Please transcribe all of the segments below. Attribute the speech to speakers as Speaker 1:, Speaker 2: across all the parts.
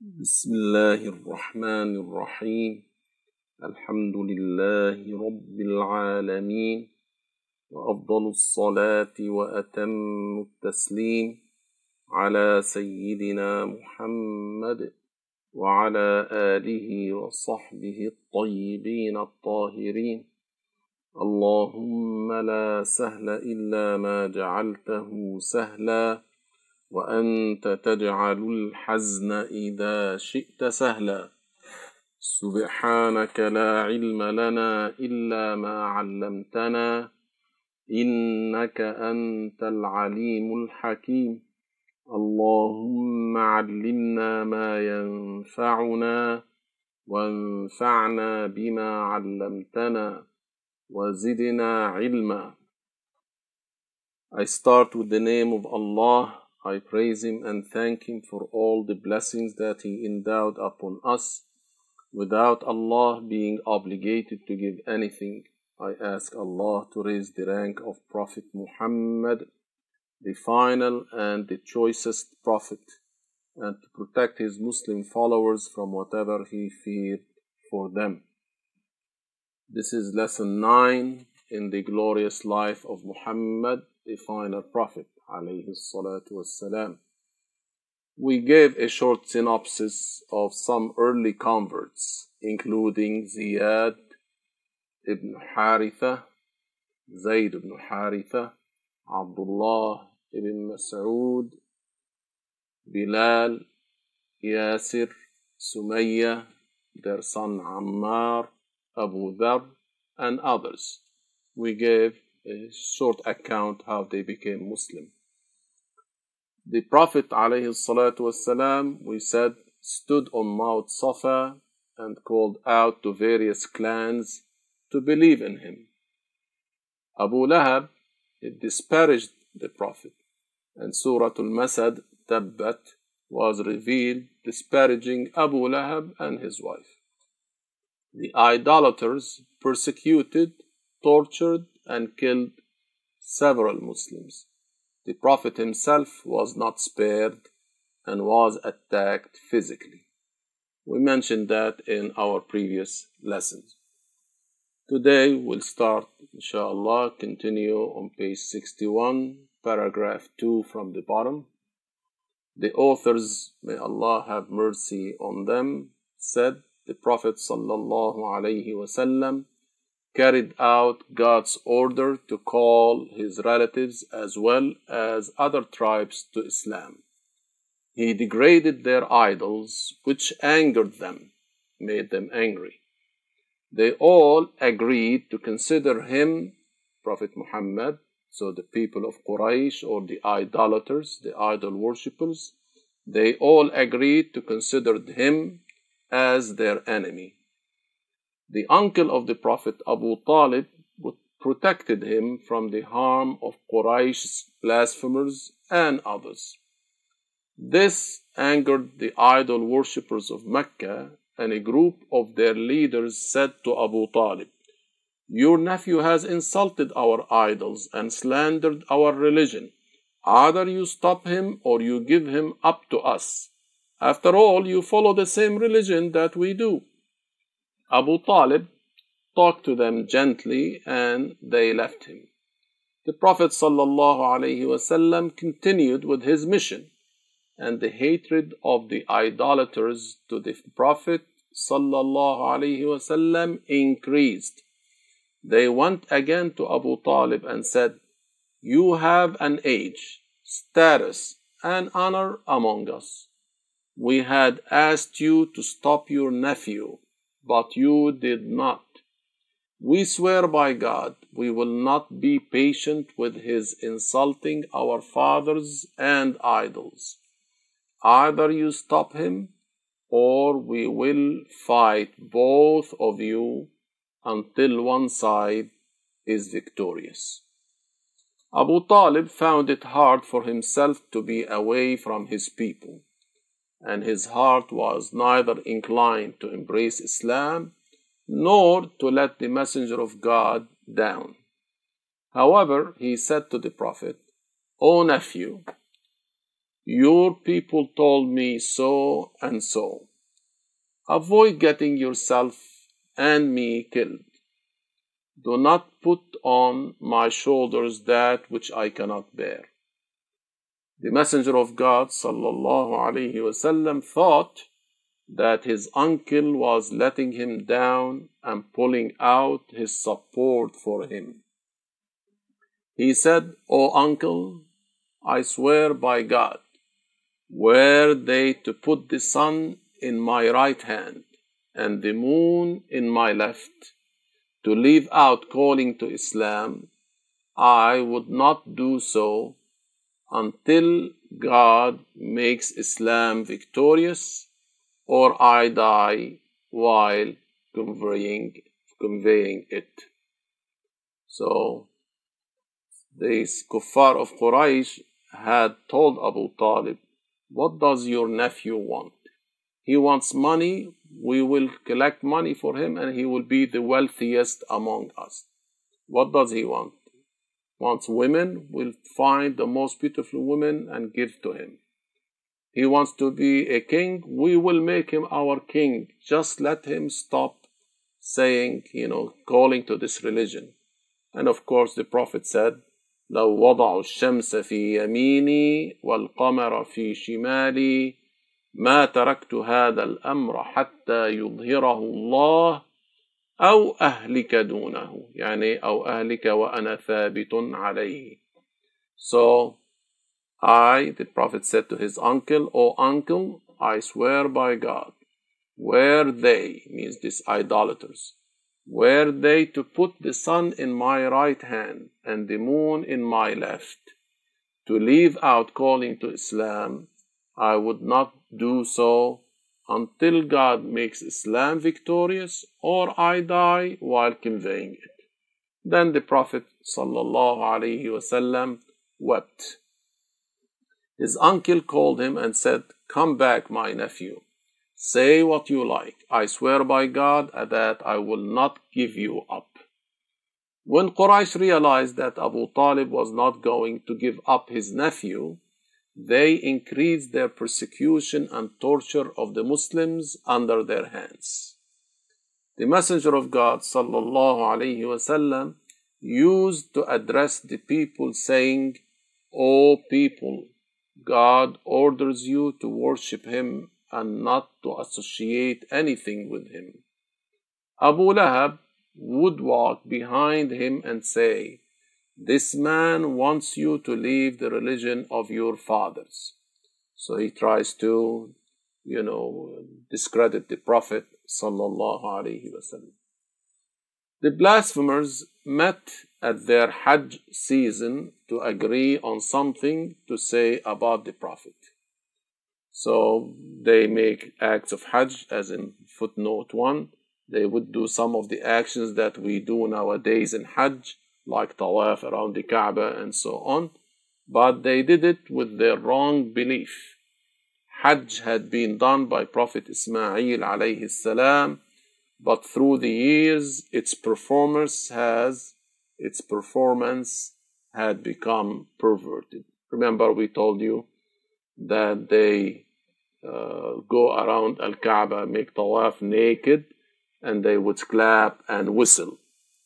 Speaker 1: بسم الله الرحمن الرحيم. الحمد لله رب العالمين، وأفضل الصلاة وأتم التسليم على سيدنا محمد وعلى آله وصحبه الطيبين الطاهرين. اللهم لا سهل إلا ما جعلته سهلا، وأنت تجعل الحزن إذا شئت سهلا. سبحانك لا علم لنا إلا ما علمتنا، إنك أنت العليم الحكيم. اللهم علمنا ما ينفعنا، وانفعنا بما علمتنا، وزدنا علما. I start with the name of Allah. I praise Him and thank Him for all the blessings that He endowed upon us, without Allah being obligated to give anything. I ask Allah to raise the rank of Prophet Muhammad, the final and the choicest Prophet, and to protect his Muslim followers from whatever he feared for them. This is lesson 9 in the glorious life of Muhammad, the final Prophet, alayhi salatu wassalam. We gave a short synopsis of some early converts, including Ziyad ibn Haritha, Zayd ibn Haritha, Abdullah ibn Mas'ud, Bilal, Yasir, Sumayya, their son Ammar, Abu Dhar, and others. We gave a short account how they became Muslim. The Prophet ﷺ, we said, stood on Mount Safa and called out to various clans to believe in him. Abu Lahab disparaged the Prophet, and Surah Al-Masad, Tabbat, was revealed disparaging Abu Lahab and his wife. The idolaters persecuted, tortured, and killed several Muslims. The Prophet himself was not spared and was attacked physically. We mentioned that in our previous lessons. Today we'll start, inshallah, continue on page 61, paragraph 2 from the bottom. The authors, may Allah have mercy on them, said the Prophet sallallahu alaihi wasallam carried out God's order to call his relatives as well as other tribes to Islam. He degraded their idols, which angered them, made them angry. They all agreed to consider him, Prophet Muhammad, so the people of Quraysh or the idolaters, the idol worshippers, they all agreed to consider him as their enemy. The uncle of the Prophet, Abu Talib, protected him from the harm of Quraysh's blasphemers and others. This angered the idol worshippers of Mecca, and a group of their leaders said to Abu Talib, "Your nephew has insulted our idols and slandered our religion. Either you stop him or you give him up to us. After all, you follow the same religion that we do." Abu Talib talked to them gently and they left him. The Prophet ﷺ continued with his mission, and the hatred of the idolaters to the Prophet ﷺ increased. They went again to Abu Talib and said, "You have an age, status, and honor among us. We had asked you to stop your nephew, but you did not. We swear by God, we will not be patient with his insulting our fathers and idols. Either you stop him, or we will fight both of you until one side is victorious." Abu Talib found it hard for himself to be away from his people, and his heart was neither inclined to embrace Islam nor to let the Messenger of God down. However, he said to the Prophet, "O nephew, Your people told me so and so. Avoid getting yourself and me killed. Do not put on my shoulders that which I cannot bear. The Messenger of God ﷺ thought that his uncle was letting him down and pulling out his support for him. He said, "O uncle, I swear by God, were they to put the sun in my right hand and the moon in my left, to leave out calling to Islam, I would not do so until God makes Islam victorious, or I die while conveying it." So these kuffar of Quraysh had told Abu Talib, "What does your nephew want? He wants money. We will collect money for him and he will be the wealthiest among us. What does he want? Wants women. We'll find the most beautiful women and give to him. He wants to be a king. We will make him our king. Just let him stop saying, calling to this religion." And of course the Prophet said, لو وضعوا الشمس في يميني والقمر في شمالي ما تركت هذا الأمر حتى يظهره الله أو أهلك دونه، أو أهلك وأنا ثابت عليه. So the Prophet said to his uncle, "O uncle, I swear by God, were they," means these idolaters, "were they to put the sun in my right hand and the moon in my left, to leave out calling to Islam, I would not do so until God makes Islam victorious, or I die while conveying it." Then the Prophet ﷺ wept. His uncle called him and said, "Come back, my nephew. Say what you like. I swear by God that I will not give you up." When Quraysh realized that Abu Talib was not going to give up his nephew, they increased their persecution and torture of the Muslims under their hands. The Messenger of God ﷺ used to address the people saying, "O people, God orders you to worship him and not to associate anything with him." Abu Lahab would walk behind him and say, "This man wants you to leave the religion of your fathers." So he tries to, discredit the Prophet ﷺ. The blasphemers met at their Hajj season to agree on something to say about the Prophet. So they make acts of Hajj, as in footnote 1. They would do some of the actions that we do nowadays in Hajj, like tawaf around the Kaaba and so on, but they did it with their wrong belief. Hajj had been done by Prophet Ismail alayhi salam, but through the years its performance had become perverted. Remember, we told you that they go around Al-Kaaba, make tawaf naked, and they would clap and whistle.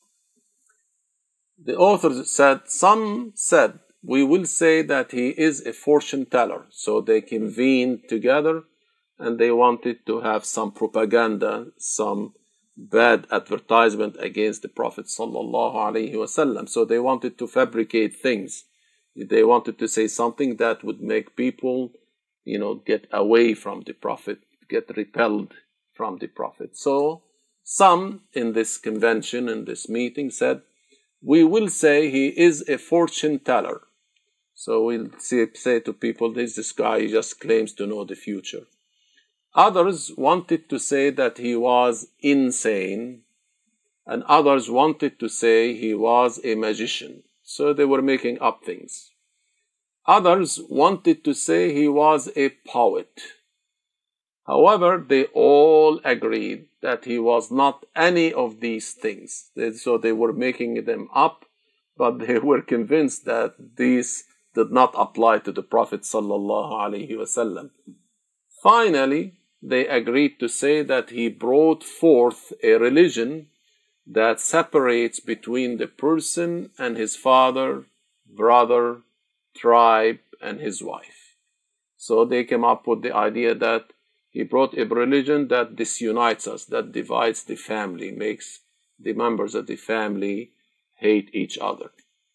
Speaker 1: The author said, some said, "We will say that he is a fortune teller." So they convened together and they wanted to have some propaganda, some bad advertisement against the Prophet ﷺ. So they wanted to fabricate things. They wanted to say something that would make people, get away from the Prophet, get repelled from the Prophet. So some in this convention, in this meeting, said, "We will say he is a fortune teller." So we'll say to people, this guy just claims to know the future. Others wanted to say that he was insane, and others wanted to say he was a magician. So they were making up things. Others wanted to say he was a poet. However, they all agreed that he was not any of these things. So they were making them up, but they were convinced that did not apply to the Prophet sallallahu alaihi wasallam. Finally, they agreed to say that he brought forth a religion that separates between the person and his father, brother, tribe, and his wife. So they came up with the idea that he brought a religion that disunites us, that divides the family, makes the members of the family hate each other.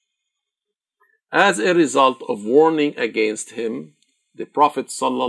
Speaker 1: As a result of warning against him, the Prophet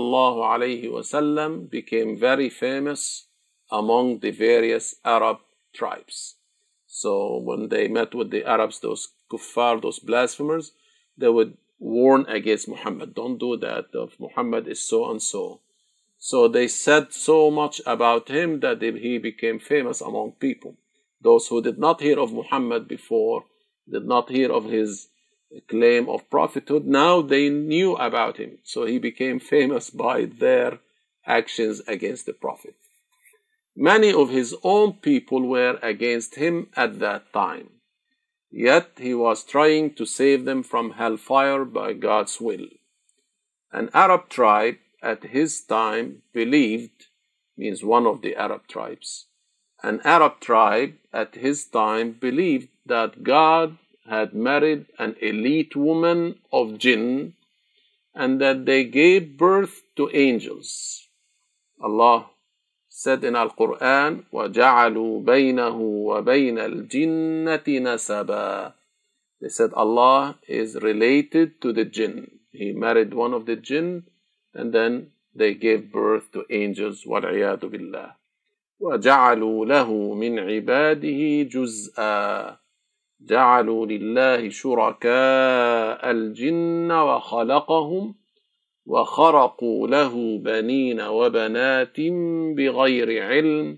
Speaker 1: ﷺ became very famous among the various Arab tribes. So when they met with the Arabs, those kuffar, those blasphemers, they would warn against Muhammad. Don't do that. Muhammad is so and so. So they said so much about him that he became famous among people. Those who did not hear of Muhammad before, did not hear of his claim of prophethood, now they knew about him. So he became famous by their actions against the Prophet. Many of his own people were against him at that time. Yet he was trying to save them from hellfire by God's will. An Arab tribe at his time believed, means one of the Arab tribes, an Arab tribe at his time believed that God had married an elite woman of jinn and that they gave birth to angels. Allah said in Al-Quran, وَجَعَلُوا بَيْنَهُ وَبَيْنَ الْجِنَّةِ نَسَبًا. They said Allah is related to the jinn. He married one of the jinn and then they gave birth to angels. وَالْعِيَاذُ بِاللَّهِ. وَجَعَلُوا لَهُ مِنْ عِبَادِهِ جُزْءًا جعلوا لله شركاء الجن وخلقهم وخرقوا له بنين وبنات بغير علم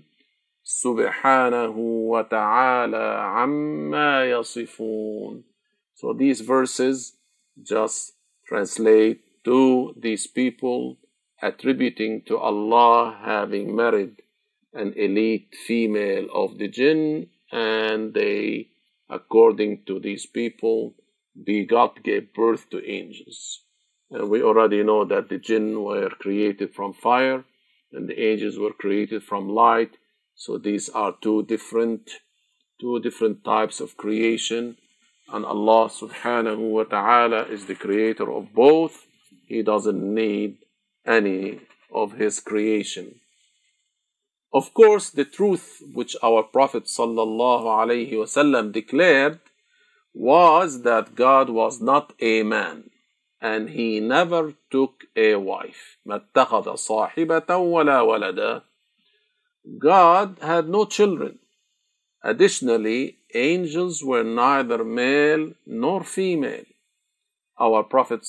Speaker 1: سبحانه وتعالى عما يصفون. So these verses just translate to these people attributing to Allah having married an elite female of the jinn, and they, according to these people, God gave birth to angels. And we already know that the jinn were created from fire and the angels were created from light. So these are two different types of creation. And Allah subhanahu wa ta'ala is the creator of both. He doesn't need any of his creation. Of course, the truth which our Prophet ﷺ declared was that God was not a man, and he never took a wife. مَا اتَّخَذَ صَاحِبَةً وَلَا وَلَدًا. God had no children. Additionally, angels were neither male nor female. Our Prophet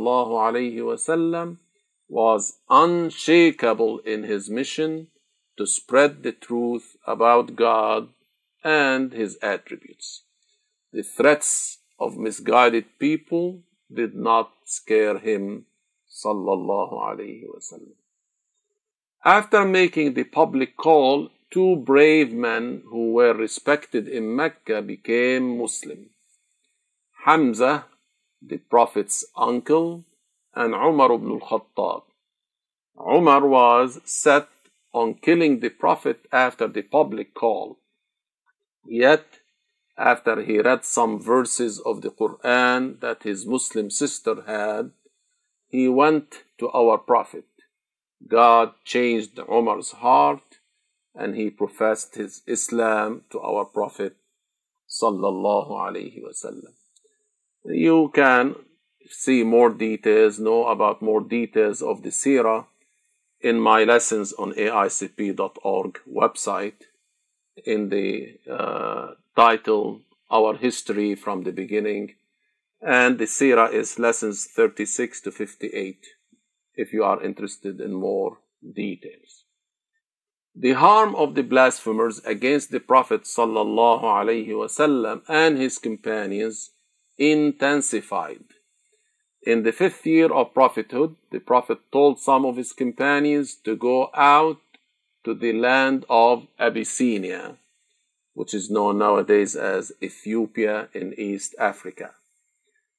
Speaker 1: ﷺ was unshakable in his mission to spread the truth about God and his attributes. The threats of misguided people did not scare him, sallallahu alayhi wasallam. After making the public call, two brave men who were respected in Mecca became Muslim. Hamza, the Prophet's uncle, and Umar ibn al-Khattab. Umar was set on killing the Prophet after the public call. Yet, after he read some verses of the Quran that his Muslim sister had, he went to our Prophet. God changed Umar's heart and he professed his Islam to our Prophet sallallahu alaihi wasallam. You can see more details, know about more details of the seerah in my lessons on aicp.org website in the title Our History from the Beginning, and the seerah is lessons 36 to 58 if you are interested in more details. The harm of the blasphemers against the Prophet sallallahu alaihi wasallam and his companions intensified. In the 5th year of prophethood, the Prophet told some of his companions to go out to the land of Abyssinia, which is known nowadays as Ethiopia in East Africa.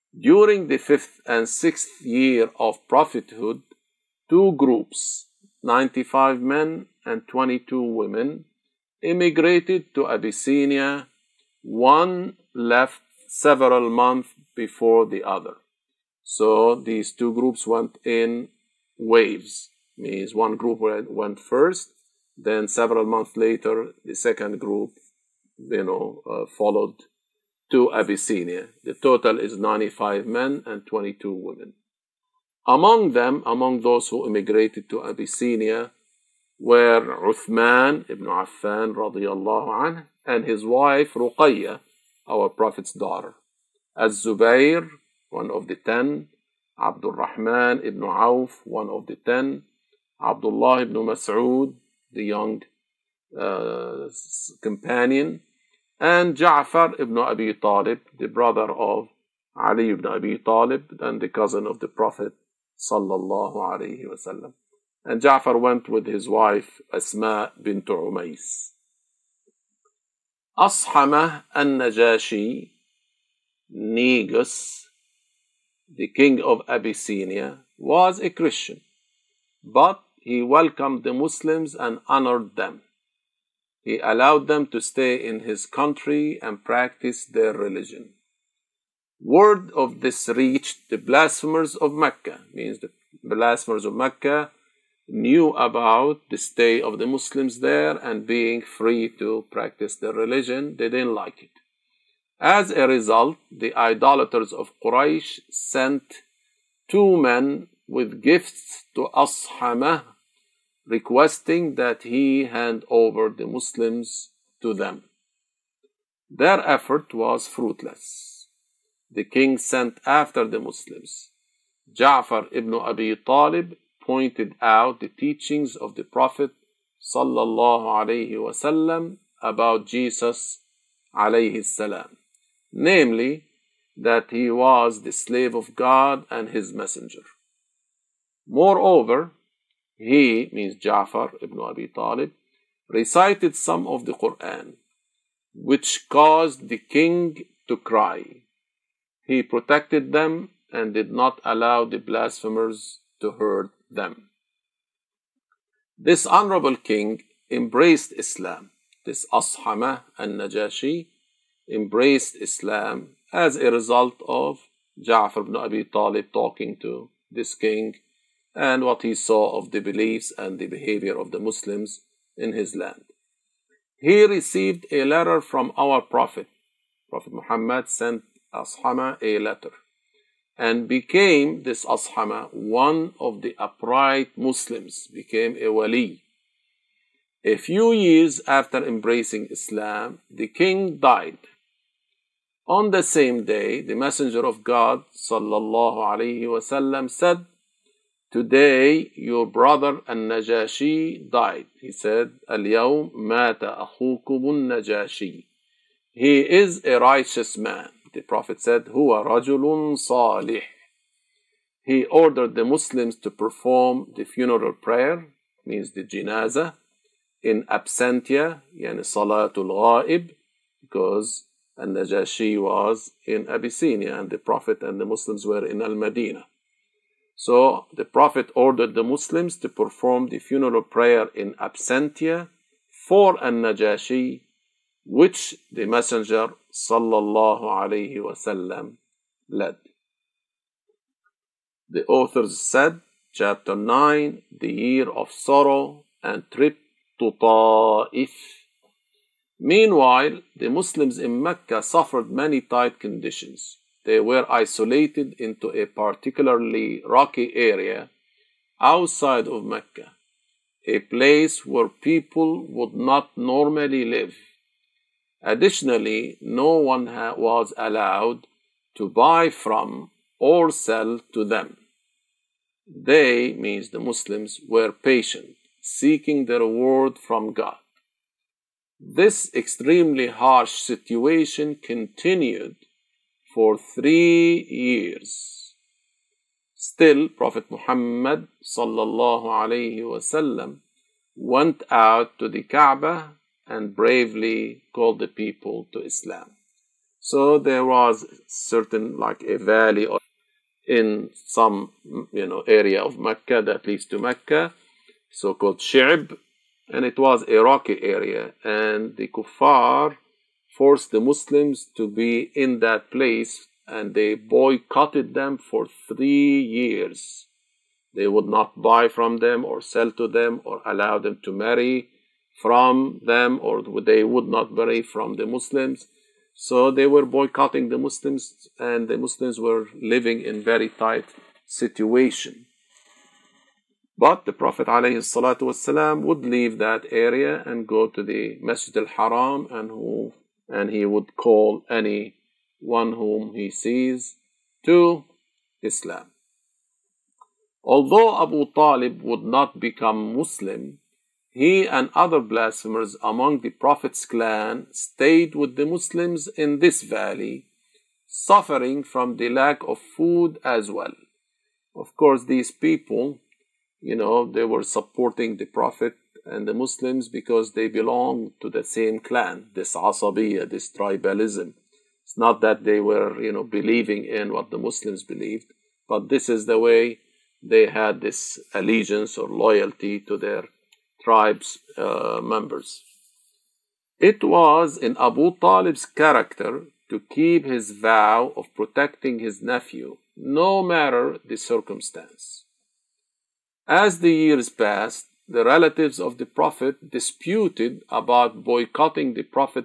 Speaker 1: During the 5th and 6th year of prophethood, two groups, 95 men and 22 women, immigrated to Abyssinia. One left several months before the other. So these two groups went in waves. Means one group went first, then several months later, the second group, followed to Abyssinia. The total is 95 men and 22 women. Among them, among those who immigrated to Abyssinia, were Uthman ibn Affan radiyallahu anhu and his wife Ruqayya, our Prophet's daughter, Az-Zubayr, one of the 10, Abdul Rahman ibn Auf, one of the 10, Abdullah ibn Mas'ud, the young companion, and Ja'far ibn Abi Talib, the brother of Ali ibn Abi Talib and the cousin of the Prophet sallallahu alayhi wasallam. And Ja'far went with his wife Asma bint Umays. Ashamah al-Najashi, Negus, the king of Abyssinia, was a Christian, but he welcomed the Muslims and honored them. He allowed them to stay in his country and practice their religion. Word of this reached the blasphemers of Mecca, means the blasphemers of Mecca knew about the stay of the Muslims there and being free to practice their religion. They didn't like it. As a result, the idolaters of Quraysh sent two men with gifts to Ashamah, requesting that he hand over the Muslims to them. Their effort was fruitless. The king sent after the Muslims. Ja'far ibn Abi Talib pointed out the teachings of the Prophet sallallahu alayhi wasallam about Jesus alayhi salam, namely that he was the slave of God and his messenger. Moreover, he, means Ja'far ibn Abi Talib, recited some of the Quran, which caused the king to cry. He protected them and did not allow the blasphemers to hurt them. This honorable king embraced Islam. This Ashamah al-Najashi embraced Islam as a result of Ja'far ibn Abi Talib talking to this king and what he saw of the beliefs and the behavior of the Muslims in his land. He received a letter from our Prophet. Prophet Muhammad sent Ashamah a letter and became this Ashamah one of the upright Muslims, became a wali. A few years after embracing Islam, the king died. On the same day, the Messenger of God sallallahu alaihi wasallam said, "Today your brother al-Najashi died." He said, "Al-yawm mata akhukum al-Najashi." He is a righteous man. The Prophet said, "Huwa rajulun salih." He ordered the Muslims to perform the funeral prayer, means the janazah, in absentia, yani salatul ghaib, because al-Najashi was in Abyssinia and the Prophet and the Muslims were in Al-Madinah. So the Prophet ordered the Muslims to perform the funeral prayer in absentia for al-Najashi, which the Messenger sallallahu alayhi wasallam led. The authors said, chapter 9, the year of sorrow and trip to Ta'if. Meanwhile, the Muslims in Mecca suffered many tight conditions. They were isolated into a particularly rocky area outside of Mecca, a place where people would not normally live. Additionally, no one was allowed to buy from or sell to them. They, means the Muslims, were patient, seeking the reward from God. This extremely harsh situation continued for 3 years. Still, Prophet Muhammad sallallahu alayhi wasallam went out to the Kaaba and bravely called the people to Islam. So there was certain like a valley in some area of Mecca that leads to Mecca, so-called Shi'b, and it was a rocky area, and the kuffar forced the Muslims to be in that place, and they boycotted them for 3 years. They would not buy from them or sell to them or allow them to marry from them, or they would not marry from the Muslims. So they were boycotting the Muslims, and the Muslims were living in very tight situation. But the Prophet ﷺ would leave that area and go to the Masjid al-Haram, and he would call anyone whom he sees to Islam. Although Abu Talib would not become Muslim, he and other blasphemers among the Prophet's clan stayed with the Muslims in this valley, suffering from the lack of food as well. Of course, these people, they were supporting the Prophet and the Muslims because they belonged to the same clan, this asabiyya, this tribalism. It's not that they were, believing in what the Muslims believed, but this is the way they had this allegiance or loyalty to their tribe's members. It was in Abu Talib's character to keep his vow of protecting his nephew, no matter the circumstance. As the years passed, the relatives of the Prophet disputed about boycotting the Prophet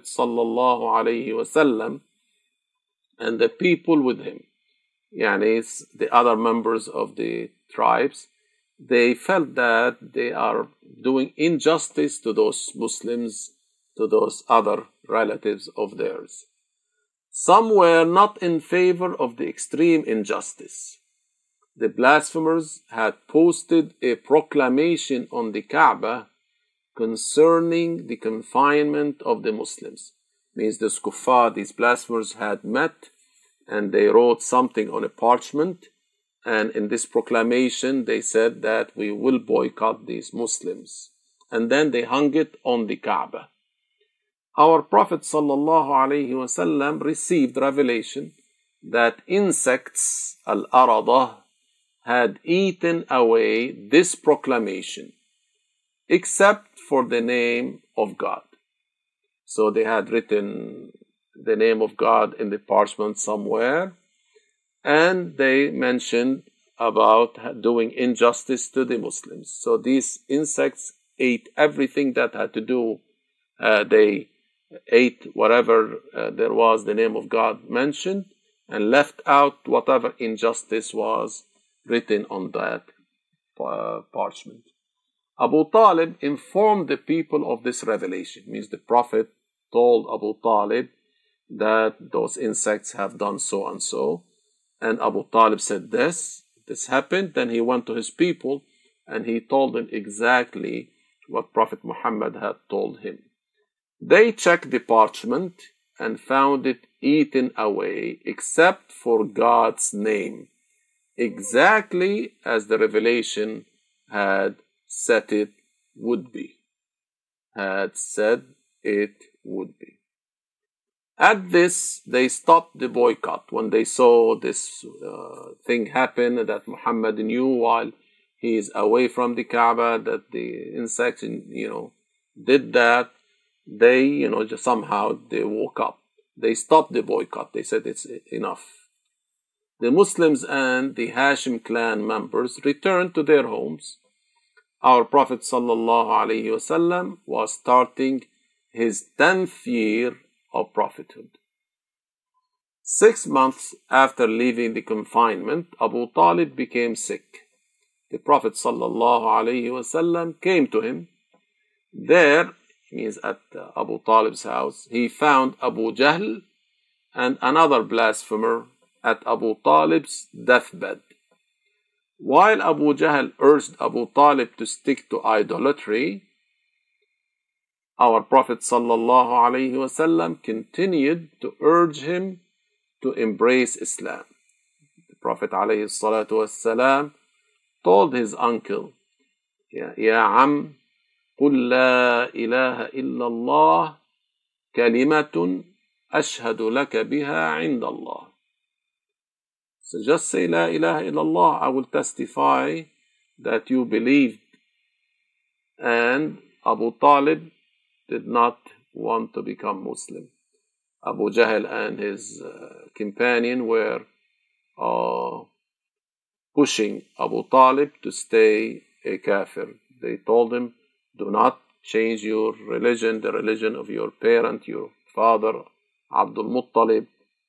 Speaker 1: ﷺ and the people with him. The other members of the tribes, they felt that they are doing injustice to those Muslims, to those other relatives of theirs. Some were not in favor of the extreme injustice. The blasphemers had posted a proclamation on the Kaaba concerning the confinement of the Muslims. Means the kuffar, these blasphemers had met, and they wrote something on a parchment, and in this proclamation they said that we will boycott these Muslims, and then they hung it on the Kaaba. Our Prophet ﷺ received revelation that insects, al-aradah, had eaten away this proclamation, except for the name of God. So they had written the name of God in the parchment somewhere, and they mentioned about doing injustice to the Muslims. So these insects ate everything that had to do, they ate whatever there was the name of God mentioned, and left out whatever injustice was written on that parchment. Abu Talib informed the people of this revelation. Means the Prophet told Abu Talib that those insects have done so and so, and Abu Talib said this happened. Then he went to his people and he told them exactly what Prophet Muhammad had told him. They checked the parchment and found it eaten away except for God's name, exactly as the revelation had said it would be. At this, they stopped the boycott when they saw this thing happen, that Muhammad knew while he is away from the Kaaba that the insects, did that. They, just somehow they woke up. They stopped the boycott. They said it's enough. The Muslims and the Hashim clan members returned to their homes. Our Prophet ﷺ was starting his 10th year of prophethood. 6 months after leaving the confinement, Abu Talib became sick. The Prophet ﷺ came to him. There, means at Abu Talib's house, he found Abu Jahl and another blasphemer at Abu Talib's deathbed. While Abu Jahl urged Abu Talib to stick to idolatry, our Prophet ﷺ continued to urge him to embrace Islam. The Prophet ﷺ told his uncle, Ya Am, قل لا إله إلا الله كلمة أشهد لك بها عند الله. So just say La ilaha illallah, I will testify that you believed. And Abu Talib did not want to become Muslim. Abu Jahl and his companion were pushing Abu Talib to stay a kafir. They told him, do not change your religion, the religion of your parent, your father, Abdul Muttalib.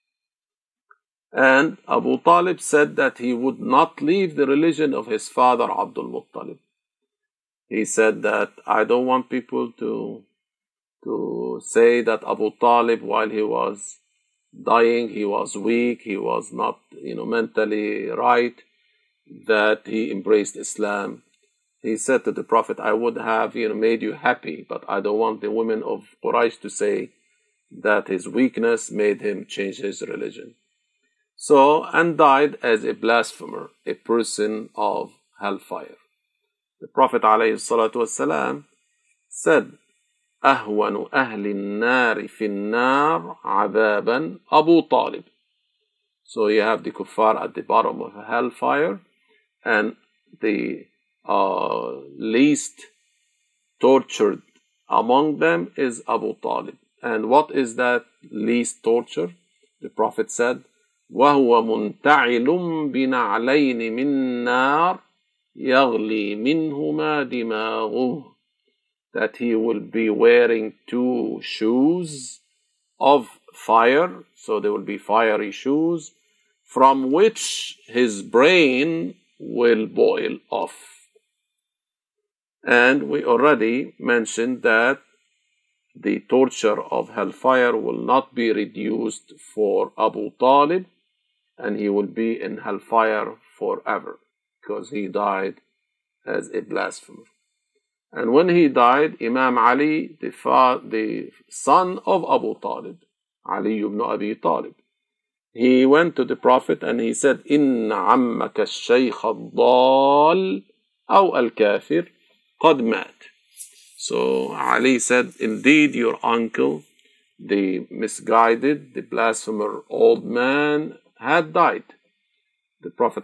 Speaker 1: And Abu Talib said that he would not leave the religion of his father, Abdul Muttalib. He said that I don't want people to say that Abu Talib, while he was dying, he was weak, he was not, mentally right, that he embraced Islam. He said to the Prophet, I would have, made you happy, but I don't want the women of Quraysh to say that his weakness made him change his religion. So, and died as a blasphemer, a person of hellfire. The Prophet ﷺ said, أهون أهل النار في النار عذابا أبو طالب. So you have the kuffar at the bottom of hellfire, and the least tortured among them is Abu Talib. And what is that least torture? The Prophet said, وهو منتعل بنعلين من نار يغلي منهما دماغه. That he will be wearing 2 shoes of fire, so there will be fiery shoes, from which his brain will boil off. And we already mentioned that the torture of hellfire will not be reduced for Abu Talib, and he will be in hellfire forever, because he died as a blasphemer. And when he died, Imam Ali, the son of Abu Talib, Ali ibn Abi Talib, he went to the Prophet and he said, إِنَّ عَمَّكَ الشَّيْخَ الضَّالِ أَوْ الْكَافِرِ قَدْ مَاتٍ. So Ali said, indeed your uncle, the misguided, the blasphemer old man, had died. The Prophet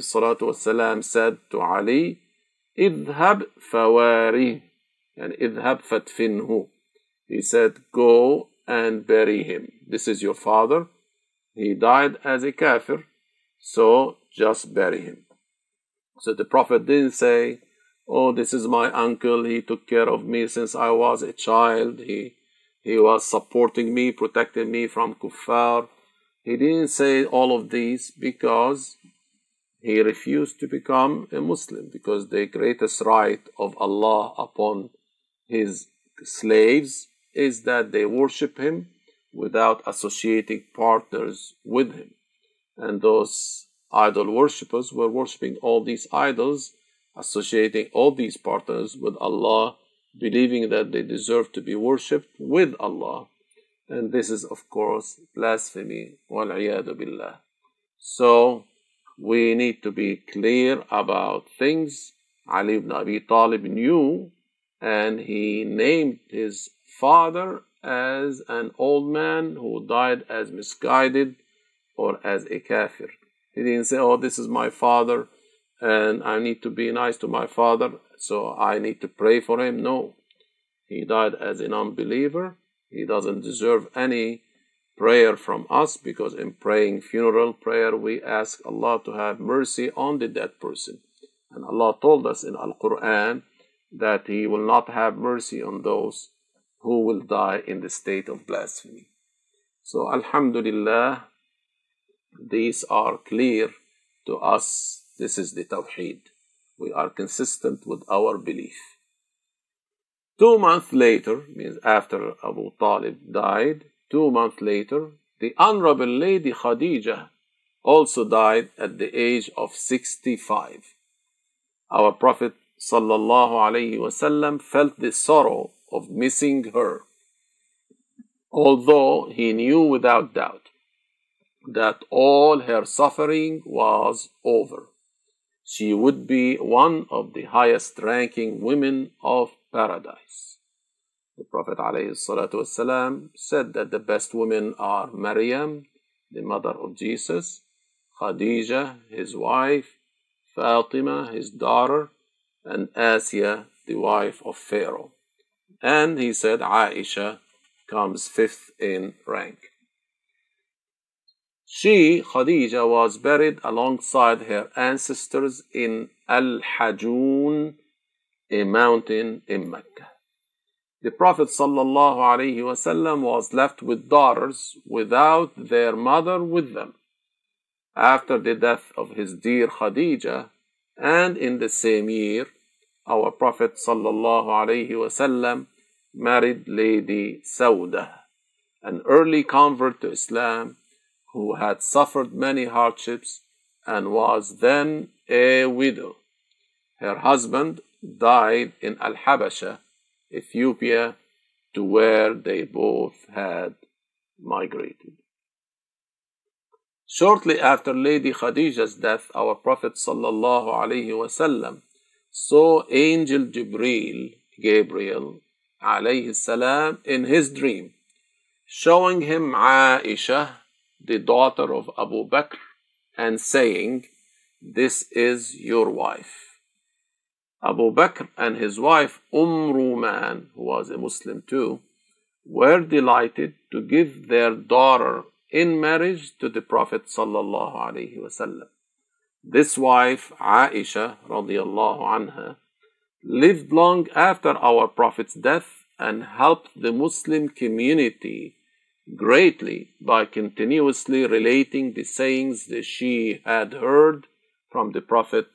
Speaker 1: ﷺ said to Ali, اذهب فواريه, and اذهب فادفنه. He said, go and bury him. This is your father. He died as a kafir, so just bury him. So the Prophet didn't say, oh, this is my uncle. He took care of me since I was a child. He was supporting me, protecting me from kuffar. He didn't say all of these because he refused to become a Muslim, because the greatest right of Allah upon his slaves is that they worship him without associating partners with him. And those idol worshippers were worshipping all these idols, associating all these partners with Allah, believing that they deserve to be worshipped with Allah. And this is, of course, blasphemy. Wal-'iyadu billah. So, we need to be clear about things. Ali ibn Abi Talib knew, and he named his father as an old man who died as misguided or as a kafir. He didn't say, oh, this is my father, and I need to be nice to my father, so I need to pray for him. No. He died as an unbeliever. He doesn't deserve any prayer from us, because in praying funeral prayer we ask Allah to have mercy on the dead person, and Allah told us in Al-Quran that He will not have mercy on those who will die in the state of blasphemy. So Alhamdulillah, these are clear to us. This is the Tawheed. We are consistent with our belief. 2 months later, means after Abu Talib died, 2 months later, the Honorable Lady Khadijah also died at the age of 65. Our Prophet ﷺ felt the sorrow of missing her, although he knew without doubt that all her suffering was over. She would be one of the highest ranking women of paradise. The Prophet ﷺ said that the best women are Maryam, the mother of Jesus, Khadija, his wife, Fatima, his daughter, and Asiya, the wife of Pharaoh. And he said Aisha comes fifth in rank. She, Khadija, was buried alongside her ancestors in Al-Hajun, a mountain in Mecca. The Prophet ﷺ was left with daughters without their mother with them. After the death of his dear Khadija, and in the same year, our Prophet ﷺ married Lady Sauda, an early convert to Islam who had suffered many hardships and was then a widow. Her husband died in Al-Habasha, Ethiopia, to where they both had migrated. Shortly after Lady Khadija's death, our Prophet ﷺ saw Angel Gabriel alayhi salam, in his dream, showing him Aisha, the daughter of Abu Bakr, and saying, "This is your wife." Abu Bakr and his wife Ruman, who was a Muslim too, were delighted to give their daughter in marriage to the Prophet ﷺ. This wife, Aisha radiallahu anha, lived long after our Prophet's death and helped the Muslim community greatly by continuously relating the sayings that she had heard from the Prophet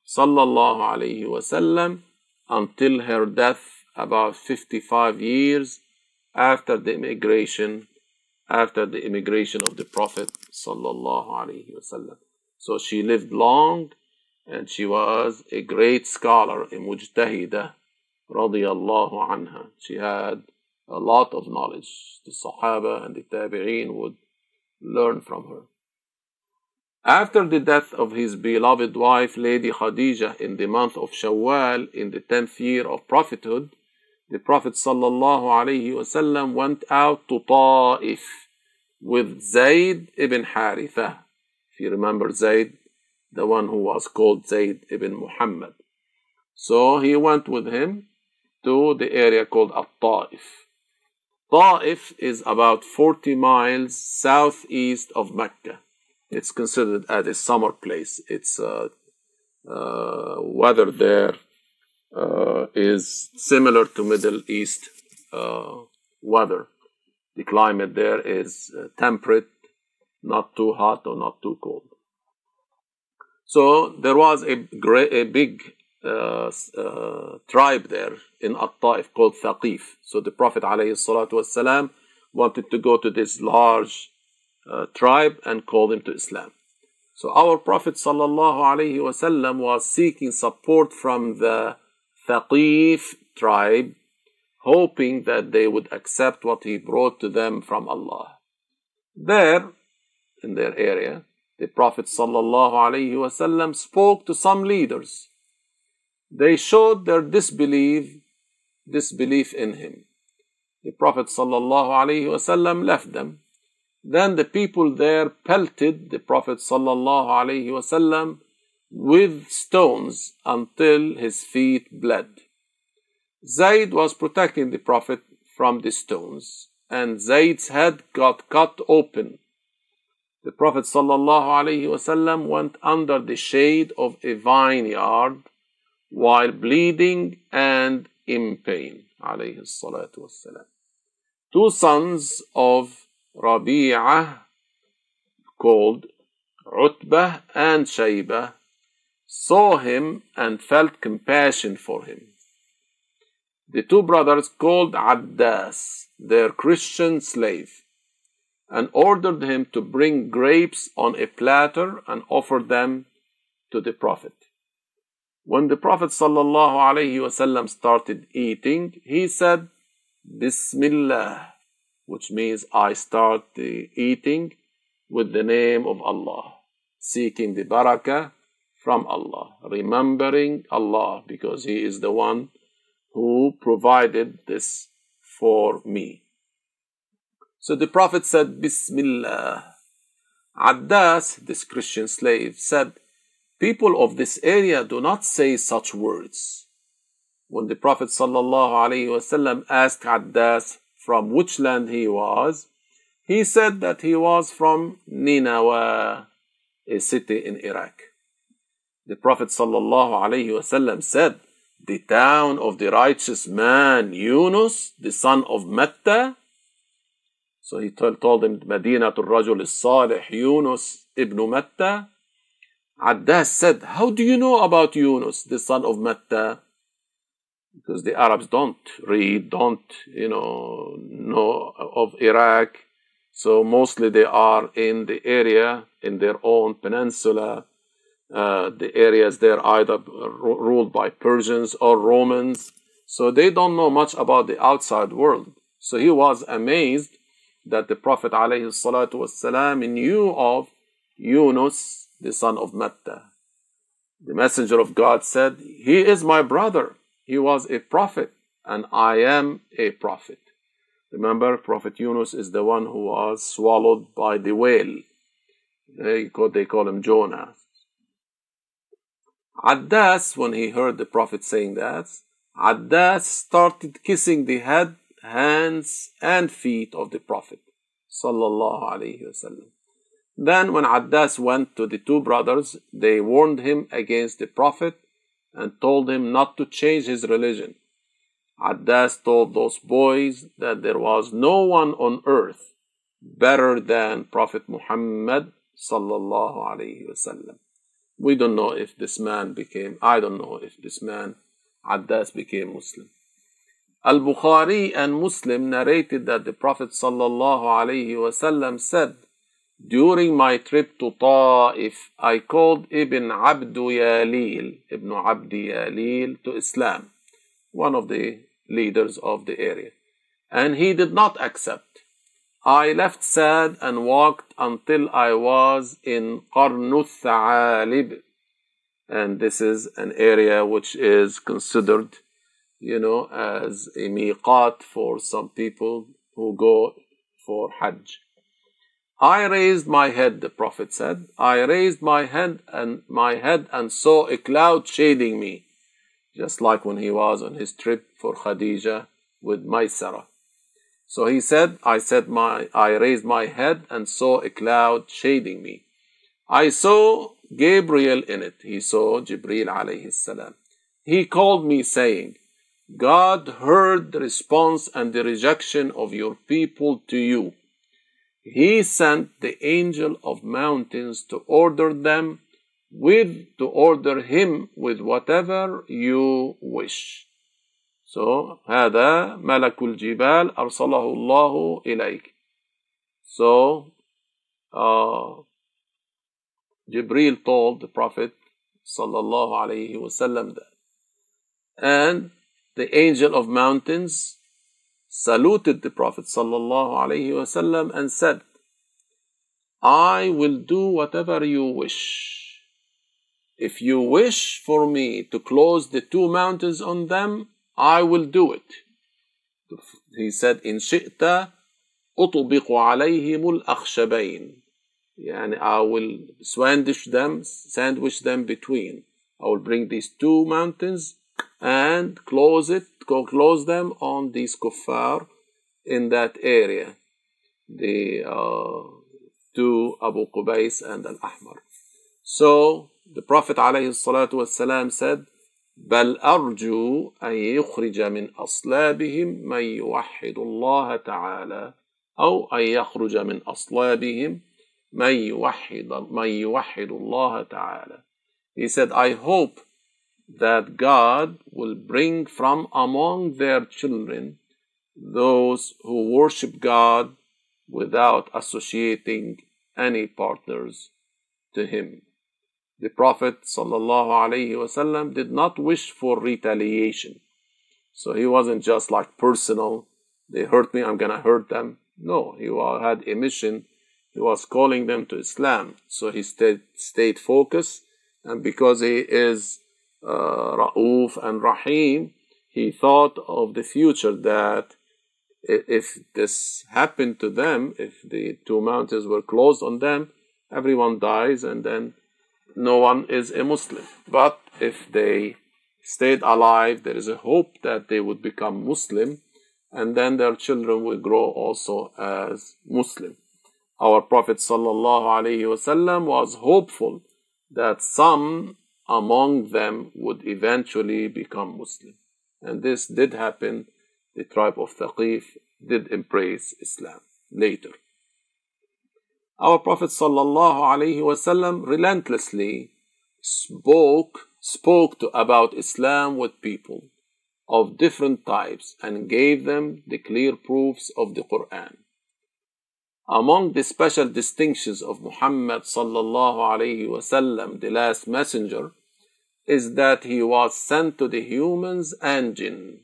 Speaker 1: ﷺ until her death about 55 years after the immigration of the Prophet ﷺ. So she lived long, and she was a great scholar, a mujtahida, radiyallahu anha. She had a lot of knowledge. The Sahaba and the Tabi'een would learn from her. After the death of his beloved wife, Lady Khadija, in the month of Shawwal, in the 10th year of prophethood, the Prophet ﷺ went out to Ta'if with Zayd ibn Haritha. If you remember Zayd, the one who was called Zayd ibn Muhammad. So he went with him to the area called At-Ta'if. Ta'if is about 40 miles southeast of Mecca. It's considered as a summer place. Its weather there is similar to Middle East weather. The climate there is temperate, not too hot or not too cold. So there was a big tribe there in At-Ta'if called Thaqif. So the Prophet ﷺ wanted to go to this large tribe and call them to Islam. So our Prophet ﷺ was seeking support from the Thaqif tribe, hoping that they would accept what he brought to them from Allah. There, in their area, the Prophet ﷺ spoke to some leaders. They showed their disbelief in him. The Prophet ﷺ left them. Then the people there pelted the Prophet ﷺ with stones until his feet bled. Zayd was protecting the Prophet from the stones, and Zayd's head got cut open. The Prophet ﷺ went under the shade of a vineyard while bleeding and in pain. Two sons of Rabi'ah, called Utbah and Shaybah, saw him and felt compassion for him. The two brothers called Addas, their Christian slave, and ordered him to bring grapes on a platter and offer them to the Prophet. When the Prophet ﷺ started eating, he said, Bismillah, which means I start the eating with the name of Allah, seeking the barakah from Allah, remembering Allah, because He is the one who provided this for me. So the Prophet said, Bismillah. Addas, this Christian slave, said, people of this area do not say such words. When the Prophet ﷺ asked Addas from which land he was, he said that he was from Nineveh, a city in Iraq. The Prophet ﷺ said, the town of the righteous man Yunus, the son of Matta. So he told him, Madinatul Rajul Salih Yunus ibn Matta. Addas said, how do you know about Yunus, the son of Matta? Because the Arabs don't read, don't know of Iraq. So mostly they are in the area, in their own peninsula. The areas there either ruled by Persians or Romans. So they don't know much about the outside world. So he was amazed that the Prophet ﷺ knew of Yunus, the son of Matta. The Messenger of God said, he is my brother. He was a prophet, and I am a prophet. Remember, Prophet Yunus is the one who was swallowed by the whale. They call him Jonah. Addas, when he heard the Prophet saying that, Addas started kissing the head, hands, and feet of the Prophet sallallahu alaihi wasallam. Then when Addas went to the two brothers, they warned him against the Prophet and told him not to change his religion. Addas told those boys that there was no one on earth better than Prophet Muhammad sallallahu alaihi wasallam. We don't know if this man Addas became Muslim. Al-Bukhari and Muslim narrated that the Prophet sallallahu alaihi wasallam said, during my trip to Ta'if, I called Ibn Abdi Yalil to Islam, one of the leaders of the area, and he did not accept. I left sad and walked until I was in Qarnuth Tha'alib, and this is an area which is considered, as a miqat for some people who go for Hajj. I raised my head, the Prophet said. I raised my head and saw a cloud shading me, just like when he was on his trip for Khadija with Maysara. So he said, I raised my head and saw a cloud shading me. I saw Gabriel in it. He saw Jibreel alayhi salam. He called me saying, God heard the response and the rejection of your people to you. He sent the angel of mountains to order him with whatever you wish. So, هذا ملك الجبال أرسله الله إليك. So, Jibreel told the Prophet sallallahu alaihi wasallam that. And the angel of mountains saluted the Prophet sallallahu alaihi wasallam and said, I will do whatever you wish. If you wish for me to close the two mountains on them, I will do it. He said, in shi'ta أطبق عليهم الأخشبين. I will sandwich them between. I will bring these two mountains and close them on these kuffar in that area. The two Abu Qubais and Al-Ahmar. So the Prophet ﷺ said, بل أرجو أن يخرج من أصلابهم من يوحد الله تعالى أو أن يخرج من أصلابهم من يوحد الله تعالى. He said, I hope that God will bring from among their children those who worship God without associating any partners to Him. The Prophet ﷺ did not wish for retaliation. So he wasn't just like personal, they hurt me, I'm going to hurt them. No, he had a mission. He was calling them to Islam. So he stayed focused. And because he is Ra'uf and Rahim, he thought of the future that if this happened to them, if the two mountains were closed on them, everyone dies and then no one is a Muslim. But if they stayed alive, there is a hope that they would become Muslim, and then their children will grow also as Muslim. Our Prophet ﷺ was hopeful that some among them would eventually become Muslim. And this did happen. The tribe of Thaqif did embrace Islam later. Our Prophet ﷺ relentlessly spoke about Islam with people of different types and gave them the clear proofs of the Quran. Among the special distinctions of Muhammad ﷺ, the last messenger, is that he was sent to the humans and jinn.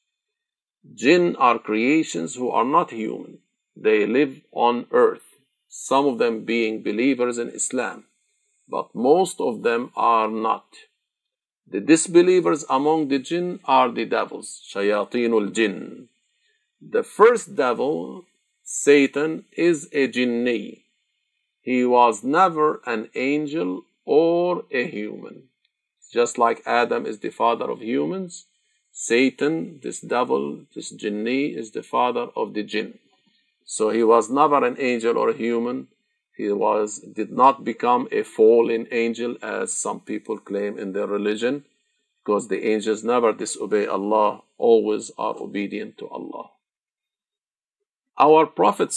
Speaker 1: Jinn are creations who are not human. They live on earth, some of them being believers in Islam, but most of them are not. The disbelievers among the jinn are the devils, shayateen al-jinn. The first devil, Satan, is a jinni. He was never an angel or a human. Just like Adam is the father of humans, Satan, this devil, this jinni, is the father of the jinn. So he was never an angel or a human. He did not become a fallen angel as some people claim in their religion, because the angels never disobey Allah, always are obedient to Allah. Our Prophet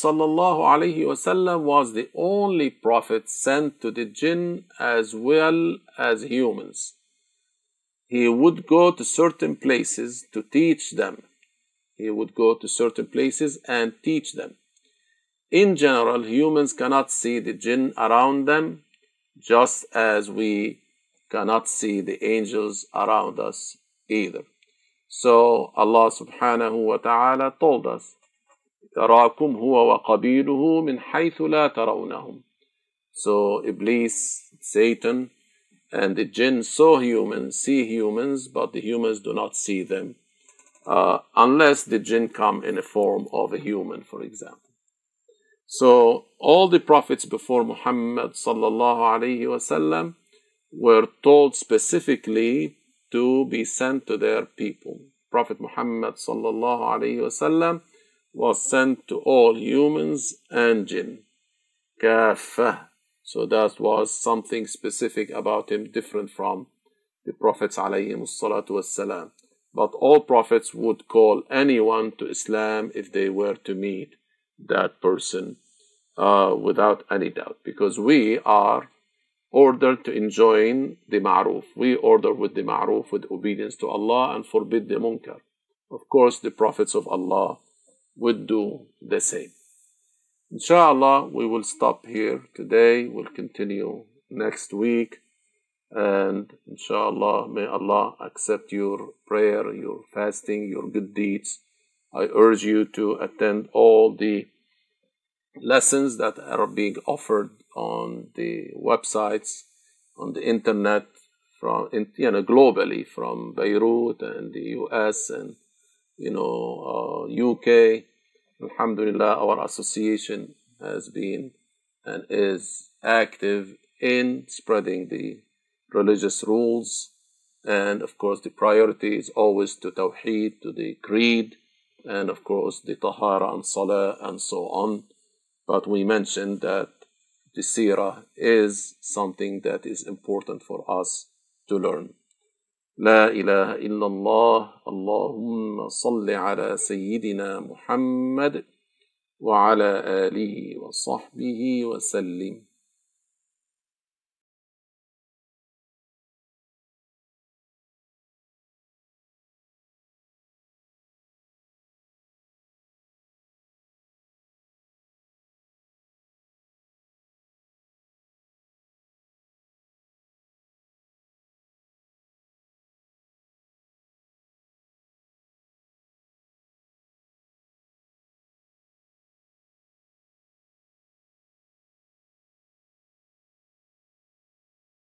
Speaker 1: ﷺ was the only prophet sent to the jinn as well as humans. He would go to certain places to teach them. He would go to certain places and teach them. In general, humans cannot see the jinn around them, just as we cannot see the angels around us either. So Allah subhanahu wa ta'ala told us, يَرَاكُمْ هُوَ وَقَبِيلُهُ مِنْ حَيْثُ لَا تَرَوْنَهُمْ. So Iblis, Satan, and the jinn see humans, but the humans do not see them, unless the jinn come in a form of a human, for example. So all the prophets before Muhammad ﷺ were told specifically to be sent to their people. Prophet Muhammad ﷺ was sent to all humans and jinn. Kaffah. So that was something specific about him, different from the prophets ﷺ. But all prophets would call anyone to Islam if they were to meet that person without any doubt, because we are ordered to enjoin the ma'ruf. We order with the ma'ruf, with obedience to Allah, and forbid the munkar. Of course, the prophets of Allah would do the same. Inshallah, we will stop here today. We'll continue next week. And inshallah, may Allah accept your prayer, your fasting, your good deeds. I urge you to attend all the lessons that are being offered on the websites, on the internet, globally, from Beirut and the US and UK. Alhamdulillah, our association has been and is active in spreading the religious rules, and of course the priority is always to Tawheed, to the Creed, and of course the Tahara and Salah and so on. But we mentioned that the Seerah is something that is important for us to learn. لا إله إلا الله اللهم صل على سيدنا محمد وعلى آله وصحبه وسلم.